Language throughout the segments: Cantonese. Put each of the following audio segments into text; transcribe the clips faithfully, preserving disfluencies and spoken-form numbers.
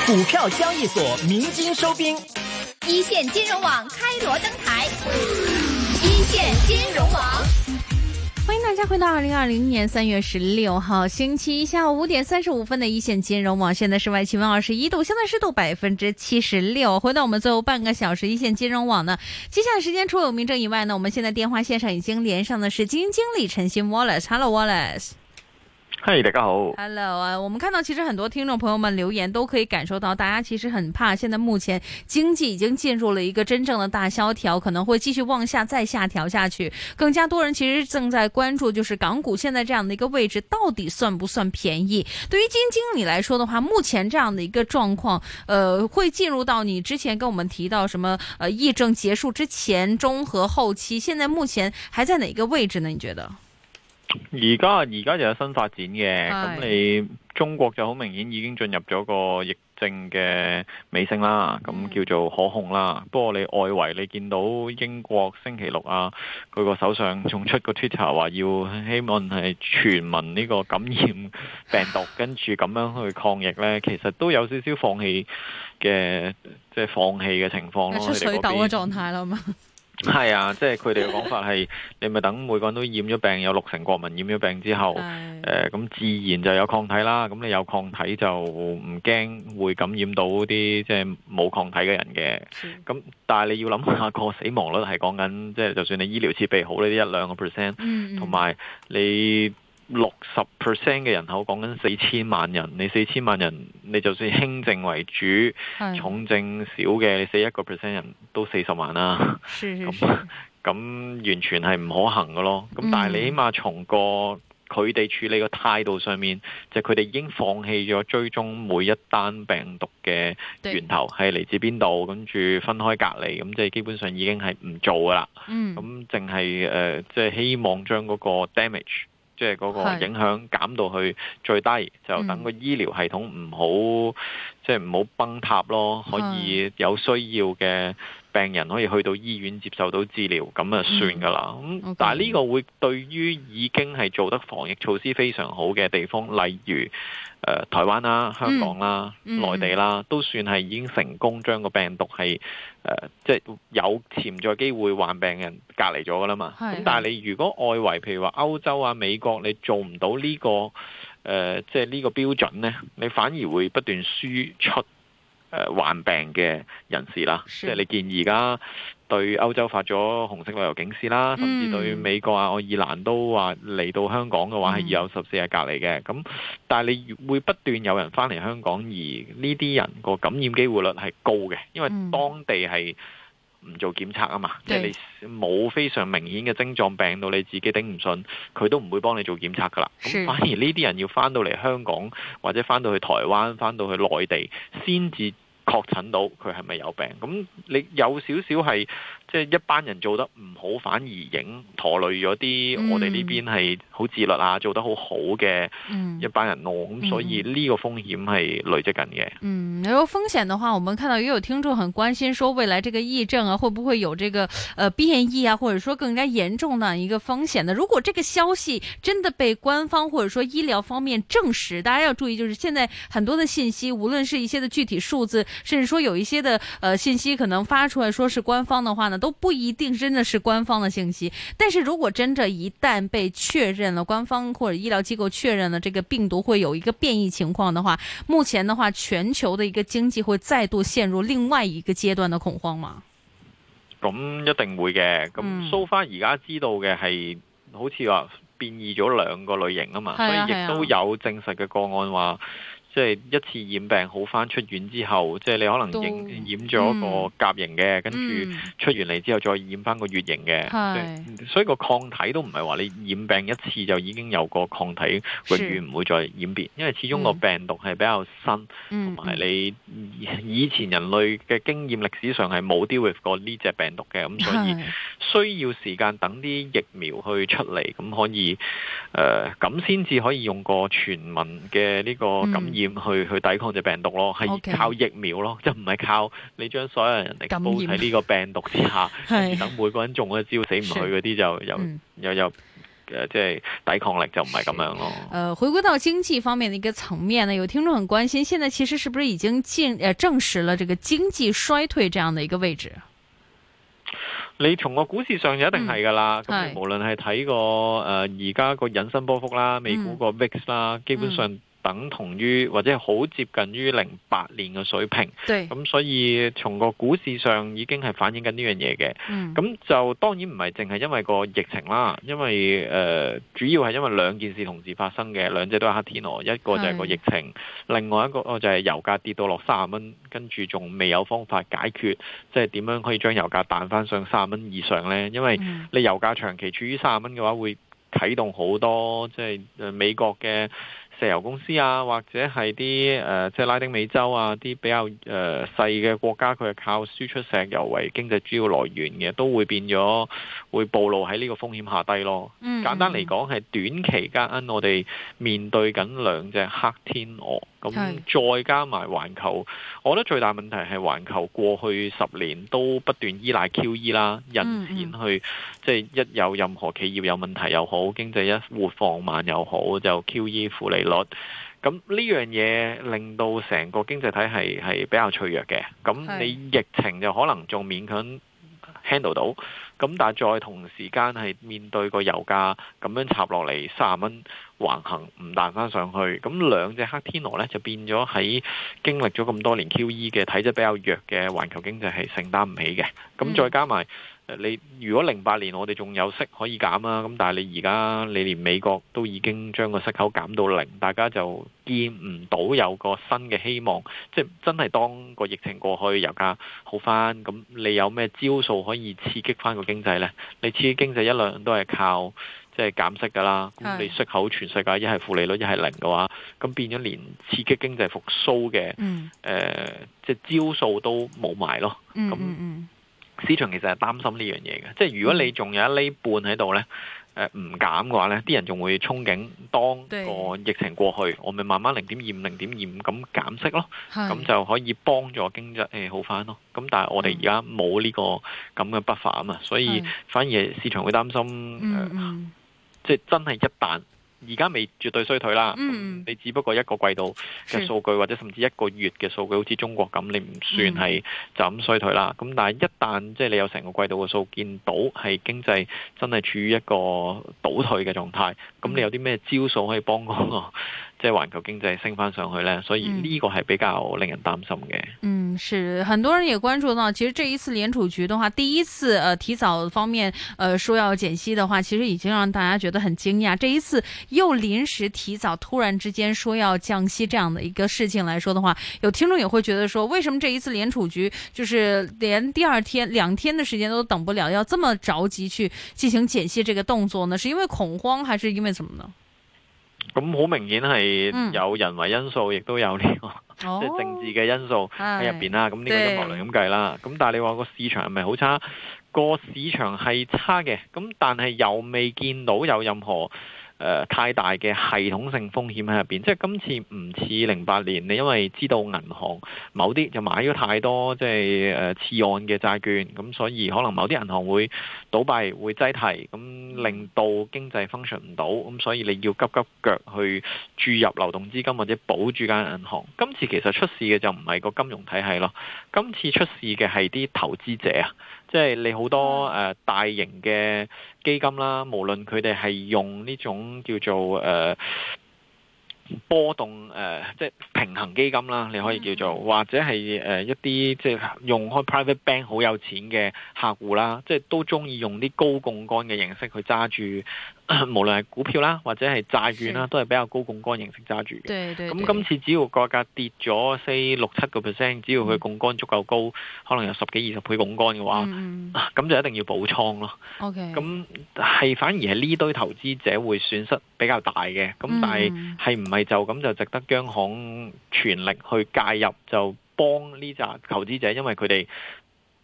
股票交易所鸣金收兵， 一线金融网开锣登台，一线金融网。 欢迎大家回到二零二零年三月十六号星期一下午五点三十五分的一线金融网，现在室外气温二十一度，相对湿度百分之七十六。回到我们最后半个小时一线金融网呢，接下来时间除了有明正以外呢，我们现在電話線上已經連上的是基金經理陳昕 Wallace。Hello Wallace。 嗨，大家好。 Hello 啊，我們看到其實很多聽眾朋友們留言都可以感受到，大家其實很怕，現在目前經濟已經進入了一個真正的大蕭條，可能會繼續往下再下調下去。更加多人其實正在關注，就是港股現在這樣的一個位置到底算不算便宜？對於基金經理來說的話，目前這樣的一個狀況，呃，會進入到你之前跟我們提到什麼，呃，疫症結束之前、中和後期，現在目前還在哪個位置呢？你覺得？ 而家而家就有新發展嘅，咁你中國就好明顯已經進入咗個疫症嘅尾聲啦，咁叫做可控啦。不過你外圍你見到英國星期六啊，佢個首相仲出個 Twitter 話要希望係全民呢個感染病毒，跟住咁樣去抗疫呢，其實都有少少放棄嘅，即係放棄嘅情況咯。 出水痘嘅狀態啦嘛。 係啊，即係佢哋嘅講法係，你咪等每個人都染咗病，有六成國民染咗病之後，誒咁、呃、自然就有抗體啦。咁你有抗體就唔驚會感染到啲即係冇抗體嘅人嘅。咁但係你要諗下個死亡率係講緊，即係就算你醫療設備好呢啲一兩個 percent， 同埋你六十 percent 嘅人口講緊四千萬人，你四千萬人，你就算輕症為主，重症少嘅，你死一個 percent 人都四十萬啦。咁咁完全係唔可行嘅咯。咁但係你起碼從個佢哋處理個態度上面，就佢哋已經放棄咗追蹤每一單病毒嘅源頭係嚟自邊度，跟住分開隔離，咁即係基本上已經係唔做噶啦。咁淨係誒，即係希望將嗰個 damage，即係嗰個影響減到去最低，就等個醫療系統唔好，即係唔好崩塌咯，可以有需要嘅病人可以去到醫院接受到治療，咁啊算噶啦。咁、嗯 okay. 但係呢個會對於已經係做得防疫措施非常好嘅地方，例如誒、呃、台灣啦、香港啦、嗯、內地啦，都算係已經成功將個病毒係誒即係有潛在機會患病人隔離咗噶啦嘛。咁但係你如果外圍譬如話歐洲啊、美國，你做唔到呢、這個誒即係呢個標準呢，你反而會不斷輸出誒患病嘅人士啦。即係你見而家對歐洲發咗紅色旅遊警示啦，甚至對美國啊、愛爾蘭都話嚟到香港嘅話係要有十四日隔離嘅。咁但係你會不斷有人翻嚟香港，而呢啲人個感染機會率係高嘅，因為當地係唔做檢測啊嘛，即係你冇非常明顯嘅症狀，病到你自己頂唔順，佢都唔會幫你做檢測噶啦。咁反而呢啲人要翻到嚟香港或者翻到去台灣、翻到去內地，先至確診到佢係咪有病。咁你有少少係即係一班人做得唔好，反而影拖累咗啲、嗯、我哋呢邊係好自律啊，做得好好嘅一班人咯。咁、嗯、所以呢個風險係累積緊嘅。 嗯，然後風險的話，我們看到也有聽眾很關心，說未來這個疫症啊，會不會有這個呃變異啊，或者說更加嚴重的一個風險呢？如果這個消息真的被官方或者說醫療方面證實，大家要注意，就是現在很多的信息，無論是一些的具體數字，甚至說有一些的呃信息可能發出來說是官方的話呢，都不一定真的是官方的信息。但是如果真的一旦被確認了，官方或者醫療機構確認了這個病毒會有一個變異情況的話，目前的話全球的一個經濟會再度陷入另外一個階段的恐慌嗎？ 咁一定會嘅。咁 so far 而家知道嘅係好似話變異咗兩個類型啊嘛，所以亦都有證實嘅個案話，即係一次染病好翻出院之後，即係你可能染染咗個甲型嘅，跟住出完嚟之後再染翻個乙型嘅，所以個抗體都唔係話你染病一次就已經有個抗體，永遠唔會再染變，因為始終個病毒係比較新，同埋你以前人類嘅經驗歷史上係冇 deal with 過呢隻病毒嘅，咁所以需要時間等啲疫苗去出嚟，咁可以誒咁先至可以用個全民嘅呢個感染。去去抵抗隻病毒咯，係靠疫苗咯，即係唔係靠你將所有人嚟煲喺呢個病毒之下，跟住等每個人中咗招死唔去嗰啲就又又又誒即係抵抗力就唔係咁樣咯。 呃，回歸到經濟方面的一個層面呢，有聽眾很關心，現在其實是不是已經進誒證實了這個經濟衰退這樣的一個位置？ 你從個股市上就一定係㗎啦，咁、嗯、你無論係睇個誒而家個引伸波幅啦，美股個 V I X 啦，嗯、基本上等同於或者係好接近於零八年嘅水平。 對， 咁所以從個股市上已經係反映緊呢樣嘢嘅。咁、嗯、就當然唔係淨係因為個疫情啦，因為誒、呃、主要係因為兩件事同時發生嘅，兩隻都係黑天鵝，一個就係個疫情，另外一個就係油價跌到落三十蚊，跟住仲未有方法解決，即係點樣可以將油價彈翻上三十蚊以上呢？因為你油價長期處於三十蚊嘅話，會啟動好多即係、就是、美國嘅石油公司啊，或者係啲誒即係拉丁美洲啊啲比較誒、呃、細嘅國家，佢係靠輸出石油為經濟主要來源嘅，都會變咗會暴露喺呢個風險下低咯。嗯、簡單嚟講，係短期間我哋面對緊兩隻黑天鵝，咁再加埋環球，我覺得最大問題係環球過去十年都不斷依賴 Q E 啦，印錢去，嗯、即係一有任何企業有問題又好，經濟一活放慢又好，就 Q E 負利率。咁呢樣嘢令到成個經濟體系係比較脆弱嘅。咁你疫情就可能仲勉強 handle 到，咁但係再同時間係面對個油價咁樣插落嚟三十蚊橫行唔彈翻上去，咁兩隻黑天鵝呢就變咗喺經歷咗咁多年 Q E 嘅體質比較弱嘅環球經濟係承擔唔起嘅。咁再加埋你如果零八年我哋仲有息可以減啊，咁但係你而家你連美國都已經將個息口減到零，大家就見唔到有個新嘅希望。即係真係當個疫情過去，油價好翻，咁你有咩招數可以刺激翻個經濟呢？你刺激經濟一兩都係靠即係減息噶啦。咁你息口全世界一係負利率一係零嘅話，咁變咗連刺激經濟復甦嘅誒即係招數都冇埋咯。咁、嗯嗯市場其實係擔心呢樣嘢嘅，即係如果你仲有一厘半喺度呢，誒唔減嘅話呢，啲人仲會憧憬當個疫情過去，我咪慢慢零點二五、零點二五咁減息咯，咁就可以幫助經濟誒好翻咯。咁但係我哋而家冇呢個咁嘅 buffer 啊嘛，所以反而市場會擔心，嗯嗯呃、即係真係一旦。而家未絕對衰退啦，嗯、你只不過一個季度嘅數據或者甚至一個月嘅數據，好似中國咁，你唔算係就咁衰退啦。咁、嗯、但係一旦即係你有成個季度嘅數見到係經濟真係處於一個倒退嘅狀態，咁、嗯、你有啲咩招數可以幫嗰個即係環球經濟升翻上去呢？所以呢個係比較令人擔心嘅。 嗯，是很多人也關注到，其實這一次聯儲局的話，第一次呃提早方面呃說要減息的話，其實已經讓大家覺得很驚訝。這一次又臨時提早，突然之間說要降息這樣的一個事情來說的話，有聽眾也會覺得說，為什麼這一次聯儲局就是連第二天兩天的時間都等不了，要這麼着急去進行減息這個動作呢？是因為恐慌，還是因為什麼呢？ 咁好明顯係有人為因素，亦、嗯、都有呢、這個即係、哦、政治嘅因素喺入邊啦。咁呢個陰謀論咁計啦。咁但係你話個市場係咪好差？個市場係差嘅，咁但係又未見到有任何誒、呃、太大嘅系統性風險喺入邊。即係今次唔似零八年，你因為知道銀行某啲就買咗太多即係誒次按嘅債券，咁所以可能某啲銀行會倒閉會擠提，咁令到經濟 function 唔到，咁所以你要急急腳去注入流動資金或者保住間銀行。今次其實出事嘅就唔係個金融體系咯，今次出事嘅係啲投資者啊，即係你好多誒、呃、大型嘅基金啦，無論佢哋係用呢種叫做誒、呃、波動誒、呃、即係平衡基金啦，你可以叫做，或者係誒、呃、一啲即係用開 private bank 好有錢嘅客戶啦，即係都中意用啲高槓桿嘅形式去揸住。無論係股票啦，或者係債券啦，都係比較高槓桿形式揸住嘅。咁今次只要個價跌咗四六七個 percent， 只要佢槓桿足夠高，可能有十幾二十倍槓桿嘅話，咁、嗯啊、就一定要補倉咯。咁、okay. 係反而係呢堆投資者會損失比較大嘅。咁、嗯、但係係唔係就咁就值得央行全力去介入，就幫呢紮投資者，因為佢哋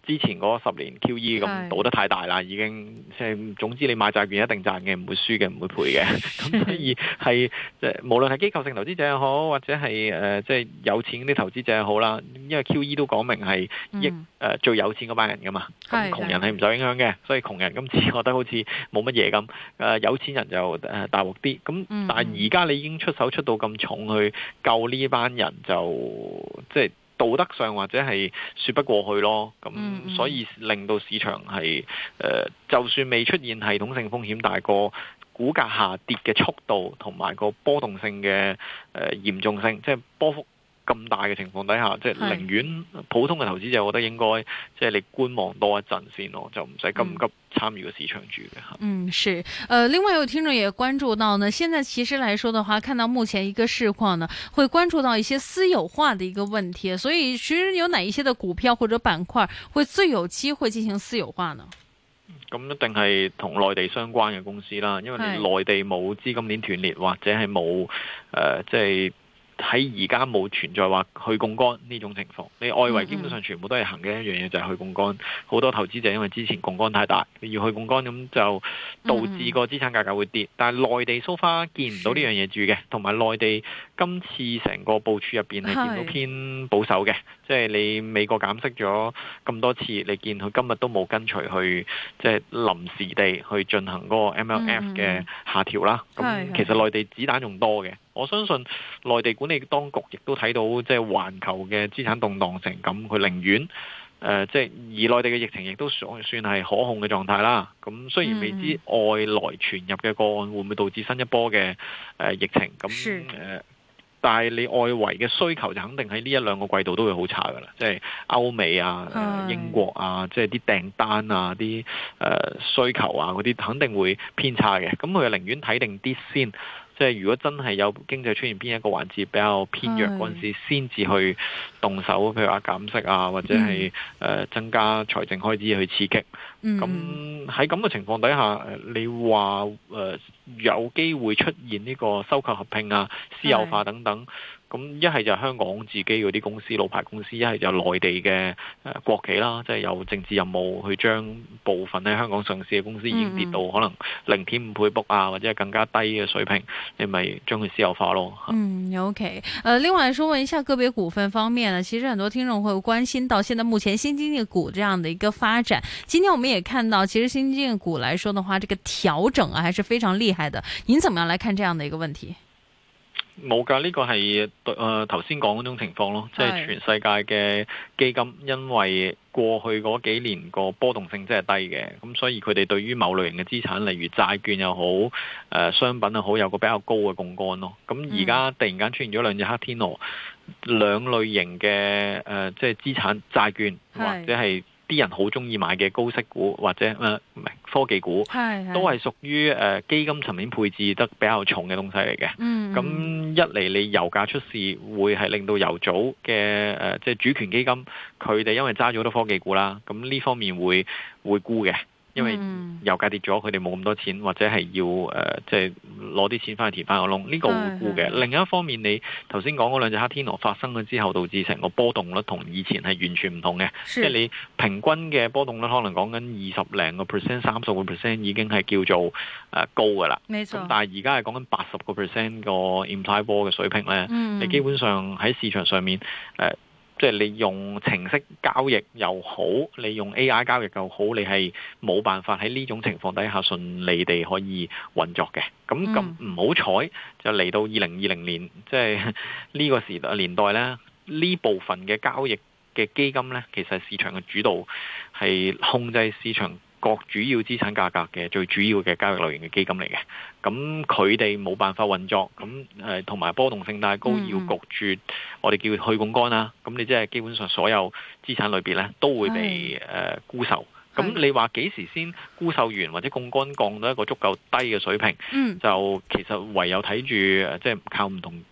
之前嗰十年 Q E 咁賭得太大啦，已經即係總之你買債券一定賺嘅，唔會輸嘅，唔會賠嘅。咁所以係即係無論係機構性投資者又好，或者係誒即係有錢啲投資者又好啦，因為 Q E 都講明係益誒、呃、最有錢嗰班人噶嘛，咁窮人係唔受影響嘅，所以窮人今次覺得好似冇乜嘢咁，誒、呃、有錢人就誒大鑊啲。咁但係而家你已經出手出到咁重去救呢班人就，就即係。道德上或者係說不過去咯，咁所以令到市場係誒、呃，就算未出現系統性風險，但係個股價下跌嘅速度同埋個波動性嘅誒嚴重性，即係波幅咁大嘅情況底下，即係寧願普通嘅投資者，我覺得應該即係你觀望多一陣先咯，就唔使咁急參與個市場住嘅吓。 嗯，是，呃，另外有聽眾也關注到呢，現在其實來說的話，看到目前一個市況呢，會關注到一些私有化的一個問題，所以其實有哪一些的股票或者板塊會最有機會進行私有化呢？ 咁一定係同內地相關嘅公司啦，因為你內地冇資金鏈斷裂或者係冇誒即係。喺而家冇存在話去槓桿呢種情況，你外圍基本上全部都係行嘅一樣嘢，就係去槓桿。好多投資者因為之前槓桿太大，要去槓桿，咁就導致個資產價格會跌。但係內地 so far 見唔到呢樣嘢住嘅，同埋內地今次成個部署入邊係見到偏保守嘅，即係你美國減息咗咁多次，你見佢今日都冇跟隨去即係臨時地去進行嗰個 M L F 嘅下調啦。咁其實內地子彈仲多嘅。我相信內地管理當局亦都睇到，即係環球嘅資產動盪成咁，佢寧願誒即係而內地嘅疫情亦都算算係可控嘅狀態啦。咁雖然未知外來傳入嘅個案會唔會導致新一波嘅誒、呃、疫情，咁誒、呃，但係你外圍嘅需求就肯定喺呢一兩個季度都會好差噶啦。即係歐美啊、呃、英國啊，即係啲訂單啊、啲誒、呃、需求啊嗰啲肯定會偏差嘅。咁佢就寧願睇定啲先。即係如果真係有經濟出現邊一個環節比較偏弱嗰陣時，先至去動手，譬如話減息啊，或者係誒、呃、增加財政開支去刺激。咁喺咁嘅情況底下，你話誒、呃、有機會出現呢個收購合併啊、私有化等等。咁一係就香港自己嗰啲公司、老牌公司，一係就內地嘅誒國企啦，即係有政治任務去將部分喺香港上市嘅公司已經跌到可能零點五倍 book 啊，或者係更加低嘅水平，你咪將佢私有化咯。 嗯，OK。呃，另外說問一下個別股份方面呢，其實很多聽眾會關心到現在目前新經濟股這樣的一個發展。今天我們也看到，其實新經濟股來說的話，這個調整啊，還是非常厲害的。您怎麼樣來看這樣的一個問題？ 冇㗎，呢、這個係誒頭先講嗰種情況咯，即係全世界嘅基金，因為過去嗰幾年個波動性真係低嘅，咁所以佢哋對於某類型嘅資產，例如債券又好，誒、呃、商品又好，有個比較高嘅槓桿咯。咁而家突然間出現咗兩隻黑天鵝，兩類型嘅誒、呃、即係資產債券或者係啲人好中意買嘅高息股或者誒唔係科技股，都係屬於誒、呃、基金層面配置得比較重嘅東西嚟嘅。咁、嗯、一嚟你油價出事，會係令到油組嘅誒即係主權基金，佢哋因為揸咗好多科技股啦，咁呢方面會會沽嘅。因為油價跌咗，佢哋冇咁多錢，或者係要誒，即係攞啲錢翻去填翻個窿，呢、這個會沽嘅。另一方面，你頭先講嗰兩隻黑天鵝發生咗之後，導致成個波動率同以前係完全唔同嘅。即係你平均嘅波動率可能講緊二十零個 percent、三十個 percent 已經係叫做誒、呃、高噶啦。咁但係而家係講緊八十個 percent 個 implied vol 嘅水平咧、嗯，你基本上喺市場上面誒。呃即係你用程式交易又好，你用 A I 交易又好，你係冇辦法喺呢種情況底下順利地可以運作嘅。咁咁唔好彩就嚟到二零二零年，即係呢個時代年代呢，呢部分嘅交易嘅基金呢，其實市場嘅主導係控制市場各主要資產價格嘅最主要嘅交易類型嘅基金嚟嘅，咁佢哋冇辦法運作，咁誒同埋波動性太高，要焗住我哋叫去槓桿啦，咁你即係基本上所有資產類別咧都會被誒沽售。咁你話幾時先沽售完或者槓桿降到一個足夠低嘅水平？嗯、就其實唯有睇住即係靠唔同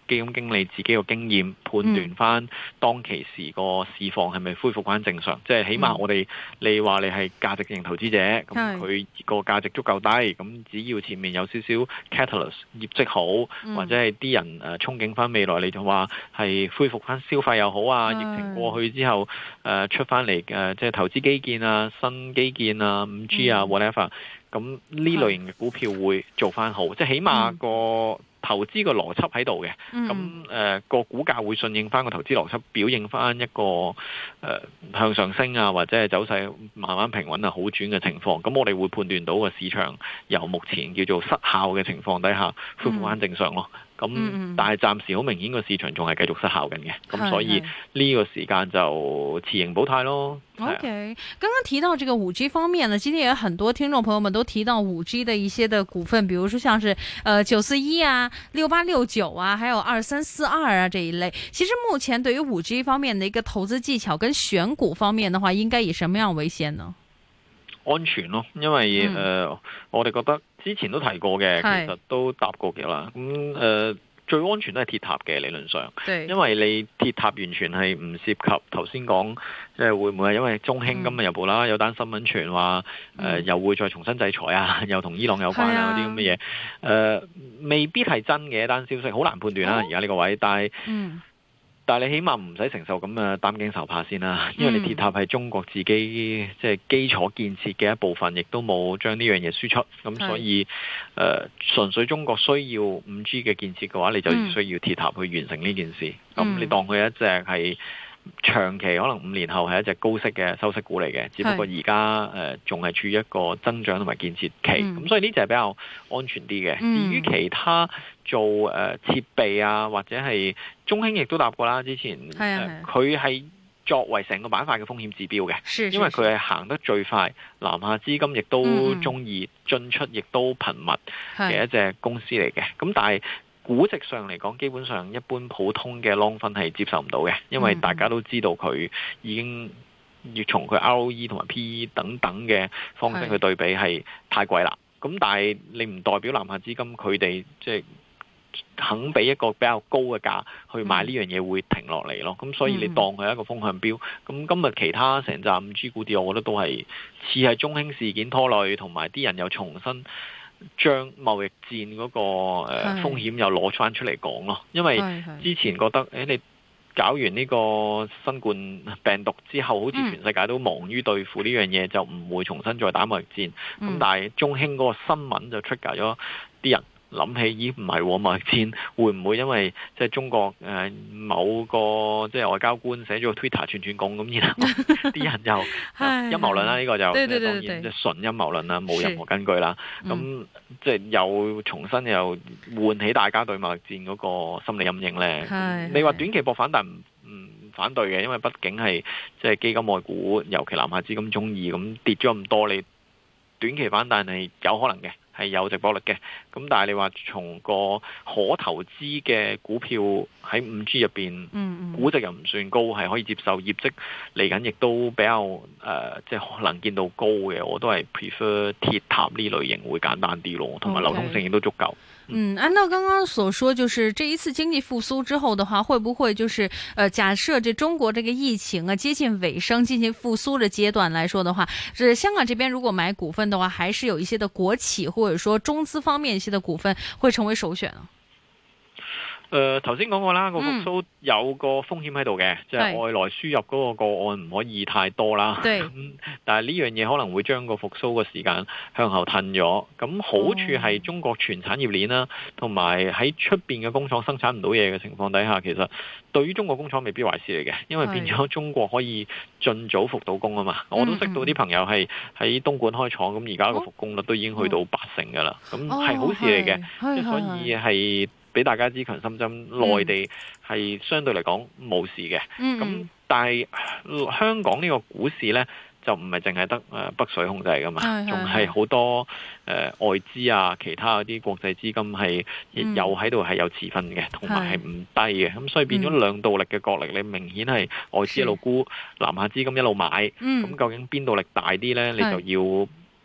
基金經理自己個經驗判斷翻當其時個市況係咪恢復翻正常。嗯、即係起碼我哋你話你係價值型投資者，咁佢個價值足夠低，咁只要前面有少少 catalyst 業績好，嗯、或者係啲人誒憧憬翻未來，你就話係恢復翻消費又好啊，疫情過去之後誒、呃、出翻嚟誒即係投資基建啊、新基建啊、五 G 啊 whatever，咁呢類型嘅股票會做翻好，即係起碼個投資個邏輯喺度嘅，咁誒個股價會順應翻個投資邏輯，表現翻一個誒、呃、向上升啊，或者係走勢慢慢平穩啊好轉嘅情況，咁我哋會判斷到個市場由目前叫做失效嘅情況底下恢復翻正常咯。咁、嗯、但係暫時好明顯個市場仲係繼續失效緊嘅，咁、嗯、所以呢個時間就持盈保泰咯。 OK，剛剛提到這個五 G 方面呢，今天也有很多聽眾朋友們都提到五 G 的一些的股份，比如說像是呃九四一啊、六八六九啊，還有二三四二啊這一類。其實目前對於五 G 方面的一個投資技巧跟選股方面的話，應該以什麼樣為先呢？ 安全咯，因為誒、嗯呃、我哋覺得之前都提過嘅，其實都答過嘅啦。咁、嗯、誒、呃、最安全都係鐵塔嘅理論上，因為你鐵塔完全係唔涉及頭先講，即係會唔會係因為中興今日又報啦，有單新聞傳話誒又會再重新制裁啊，又同伊朗有關啊嗰啲咁嘅嘢，誒、呃、未必係真嘅一單消息，好難判斷啦而家呢個位，但係。嗯但係你起碼唔使承受咁嘅擔驚受怕先啦，因為你鐵塔係中國自己即係基礎建設嘅一部分，亦都冇將呢樣嘢輸出，咁所以誒、呃、純粹中國需要五 G 嘅建設嘅話，你就需要鐵塔去完成呢件事。咁、嗯、你當佢一隻係長期可能五年後係一隻高息嘅收息股嚟嘅，只不過而家誒仲係處於一個增長同埋建設期，咁、嗯、所以呢隻係比較安全啲嘅。嗯、至於其他做誒、呃、設備啊，或者係中興亦都答過啦，之前佢係、呃、作為成個板塊嘅風險指標嘅，是是是因為佢係行得最快，南下資金亦都中意進出，亦都頻密嘅一隻公司嚟嘅。咁但係估值上嚟講，基本上一般普通嘅 long 分係接受唔到嘅，因為大家都知道佢已經要從佢 R O E 同埋 P E 等等嘅方式去對比係太貴啦。咁但係你唔代表南下資金佢哋即係肯俾一個比較高嘅價去買呢樣嘢會停落嚟咯。咁所以你當佢係一個風向標。咁今日其他成紮五 G 股跌，我覺得都係似係中興事件拖累，同埋啲人又重新將貿易戰嗰個誒風險又攞翻出嚟講咯，因為之前覺得誒你搞完呢個新冠病毒之後，好似全世界都忙於對付呢樣嘢，就唔會重新再打貿易戰。咁但係中興嗰個新聞就出價咗啲人。諗起咦唔係貿易戰會唔會因為即係中國誒、呃、某個即係外交官寫咗個 Twitter 串串供咁，然後啲人又陰謀論啦，呢、這個就對對對對當然即係純陰謀論啦，冇任何根據啦。咁即係又重新又喚起大家對貿易戰嗰個心理陰影咧。你話短期博反彈唔唔反對嘅，因為畢竟係即係基金外股，尤其南下資金中意咁跌咗咁多，你短期反彈係有可能嘅。係有值博率嘅，咁但係你話從個可投資嘅股票喺五 G 入邊，嗯嗯估值又唔算高，係可以接受，業績嚟緊亦都比較誒、呃，即係可能見到高嘅，我都係 prefer 鐵塔呢類型會簡單啲咯，同埋流通性亦都足夠。 嗯，按照剛剛所說，就是這一次經濟復甦之後的話，會不會就是，呃，假設這中國這個疫情啊接近尾聲，進行復甦的階段來說的話，是香港這邊如果買股份的話，還是有一些的國企或者說中資方面一些的股份會成為首選啊？ 誒頭先講過啦，個復甦有個風險喺度嘅，即係外來輸入嗰個個案唔可以太多啦。咁但係呢樣嘢可能會將個復甦嘅時間向後褪咗。咁好處係中國全產業鏈啦，同埋喺出邊嘅工廠生產唔到嘢嘅情況底下，其實對於中國工廠未必壞事嚟嘅，因為變咗中國可以盡早復到工啊嘛。我都識到啲朋友係喺東莞開廠，咁而家個復工率都已經去到八成㗎啦。咁係好事嚟嘅，即係所以係。俾大家知強心針，內地係相對嚟講冇事嘅。咁、嗯、但係香港呢個股市呢，就唔係淨係得誒北水控制㗎嘛，仲係好多誒、呃、外資啊，其他嗰啲國際資金係亦有喺度係有持分嘅，同埋係唔低嘅。咁所以變咗兩道力嘅角力，你明顯係外資一路沽，南下資金一路買。咁、嗯、究竟邊道力大啲呢？你就要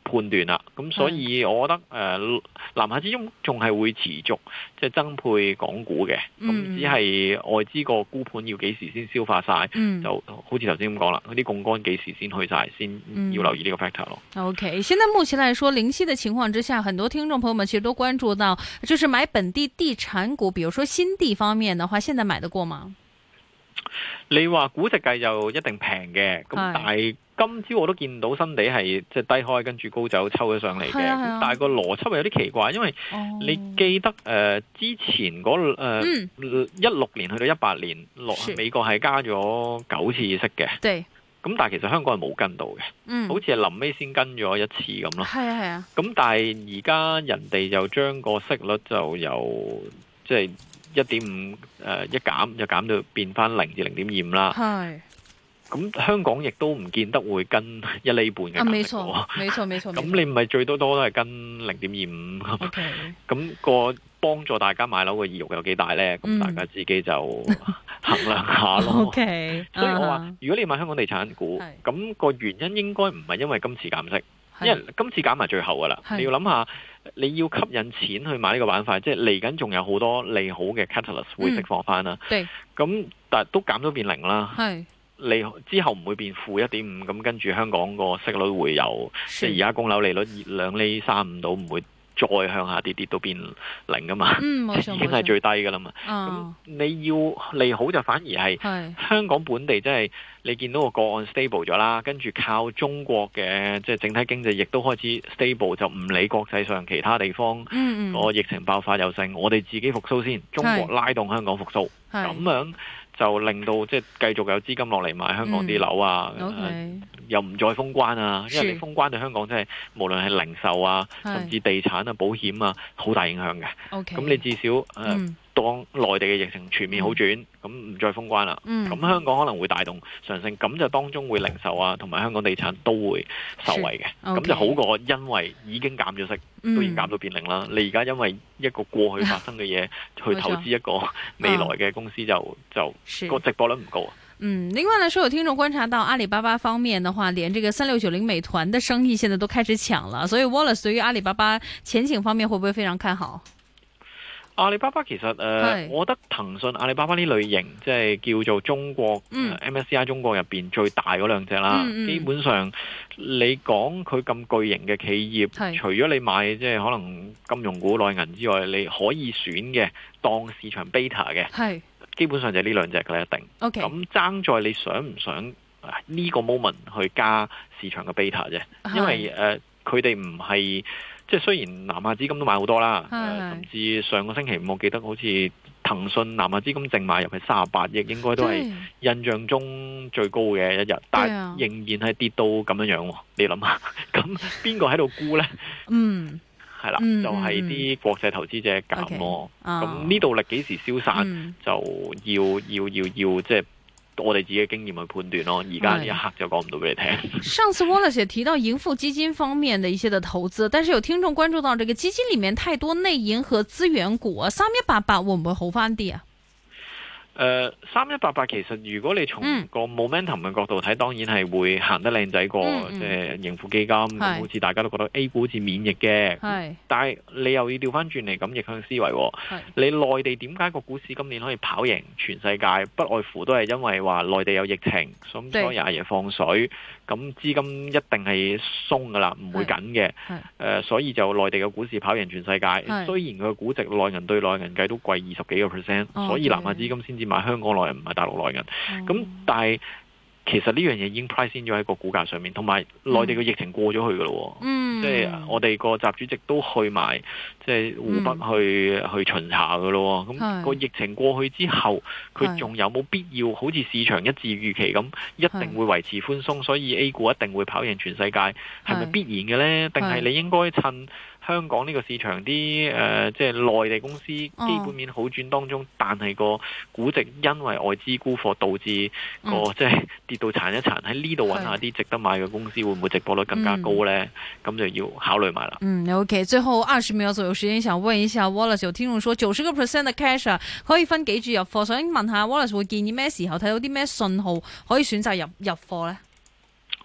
判斷啦。咁所以我覺得誒、呃、南下資金仲係會持續即係增配港股嘅，咁、嗯、只係外資個沽盤要幾時先消化晒，嗯、就好似頭先咁講啦，嗰啲槓桿幾時先去晒，先要留意呢個 factor 咯。 OK， 現在目前來說，零息的情況之下，很多聽眾朋友們其實都關注到，就是買本地地產股，比如說新地方面的話，現在買得過嗎？ 你話估值計就一定平嘅，咁但係今朝我都見到新地係即係低開跟住高走抽咗上嚟嘅，咁、啊、但係個邏輯係有啲奇怪，因為你記得誒、呃、之前嗰誒一六年去到一八年落美國係加咗九次息嘅，咁但係其實香港係冇跟到嘅，嗯、好似係臨尾先跟咗一次咁咯。係啊係啊，咁但係而家人哋就將個息率就由即係一點五誒一減就減到變翻零至零點二五啦。係。咁香港亦都唔見得會跟一厘半嘅減息。啊，沒錯，沒錯，沒錯。咁你唔係最多多都係跟零點二五。O K。咁個幫助大家買樓嘅意欲有幾大咧？咁、嗯、大家自己就衡量下咯。O K。所以我話，如果你買香港地產股，咁、那個原因應該唔係因為今次減息，因為今次減埋最後噶啦。你要諗下，你要吸引錢去買呢個板塊，即係嚟緊仲有好多利好嘅 catalyst 會釋放翻啦。對、嗯。咁但係都減咗變零啦。係。你之後唔會變負一點五，咁跟住香港個息率會有，即係而家供樓利率兩厘三五到，唔會再向下跌跌到變零噶嘛，嗯、已經係最低噶啦嘛。咁、哦、你要利好就反而係香港本地，即係你見到個個案 stable 咗啦，跟住靠中國嘅即係整體經濟亦都開始 stable，就唔理國際上其他地方個疫情爆發又成，我哋自己復甦先，中國拉動香港復甦，咁樣。就令到即係繼續有資金落嚟買香港啲樓啊，嗯 okay. 呃、又唔再封關啊，因為你封關對香港真係無論係零售啊，甚至地產啊、保險啊，好大影響嘅。咁、okay. 你至少誒、呃嗯、當內地嘅疫情全面好轉，咁、嗯、唔再封關啦，咁、嗯、香港可能會帶動上升，咁就當中會零售啊同埋香港地產都會受惠嘅，咁、okay. 就好過因為已經減咗息。都已經減到變零啦！你而家因為一個過去發生嘅嘢去投資一個未來嘅公司就，就就個值博率唔高啊。 嗯，另外來說，有聽眾觀察到阿里巴巴方面的話，連這個三六九零美團的生意現在都開始搶了，所以 Wallace 對於阿里巴巴前景方面會不會非常看好？ 阿里巴巴其實誒、呃，我覺得騰訊、阿里巴巴呢類型，即係叫做中國、嗯呃、M S C I 中國入邊最大嗰兩隻啦、嗯嗯。基本上你講佢咁巨型嘅企業，除咗你買即係可能金融股、內銀之外，你可以選嘅當市場 beta 嘅，基本上就係呢兩隻嘅啦，一定。咁、okay. 爭在你想唔想呢個 moment 去加市場嘅 beta 啫，因為誒佢哋唔係。即係雖然南下資金都買好多啦、呃，甚至上個星期五我記得好似騰訊南下資金淨買入係三十八億，應該都係印象中最高嘅一日，但係仍然係跌到咁樣樣。你諗下，咁邊個喺度沽呢？嗯，係啦，就係、是、啲國際投資者減咯。咁呢度力幾時消散，嗯、就要要要要即係。我哋自己嘅經驗去判斷咯，而家呢一刻就講唔到俾你聽。 上次 Wallace 也提到盈富基金方面的一些的投資，但是有聽眾關注到這個基金裏面太多內銀和資源股啊，三一八八會唔會好翻啲啊？ 誒、呃，三一八八其實如果你從個 momentum 嘅角度睇、嗯，當然係會行得靚仔過，即係盈富基金咁，好似大家都覺得 A 股好似免疫嘅。但係你又要調翻轉嚟咁逆向思維，你內地點解個股市今年可以跑贏全世界？不外乎都係因為話內地有疫情，咁所以阿爺放水，咁資金一定係鬆噶啦，唔會緊嘅。誒、呃，所以就內地嘅股市跑贏全世界。雖然佢嘅估值內銀對內銀計都貴二十幾個 percent，所以南下資金先至買香港內銀，唔係大陸內銀。咁、嗯、但係其實呢樣嘢已經 price in 咗喺個股價上面，同埋內地嘅疫情過咗去噶咯。嗯，即係我哋個習主席都去埋，即係湖北去、嗯、去巡查噶咯。咁個疫情過去之後，佢仲有冇必要好似市場一致預期咁，一定會維持寬鬆，所以 A 股一定會跑贏全世界，係咪必然嘅呢？定係你應該趁香港呢個市場啲誒，即係內地公司基本面好轉當中，哦、但係個估值因為外資沽貨導致個、嗯、即係跌到殘一殘，喺呢度揾下啲值得買嘅公司，會唔會值博率更加高呢？咁、嗯、就要考慮埋啦。 嗯 ，OK， 最後二十秒左右時間，想問一下 Wallace， 有聽眾說九十個 percent 嘅 cash 可以分幾注入貨，想問下 Wallace 會建議咩時候睇到啲咩信號可以選擇入入貨呢？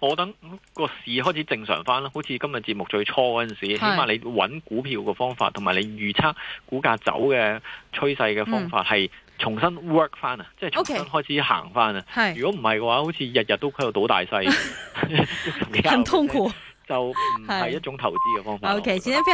我等個市開始正常翻啦，好似今日節目最初嗰陣時，起碼你揾股票嘅方法，同埋你預測股價走嘅趨勢嘅方法係重新 work 翻啊，即係重新開始行翻啊。 Okay. 如果唔係嘅話，好似日日都喺度賭大細， 很痛苦， 就唔係一種投資嘅方法。 OK，今天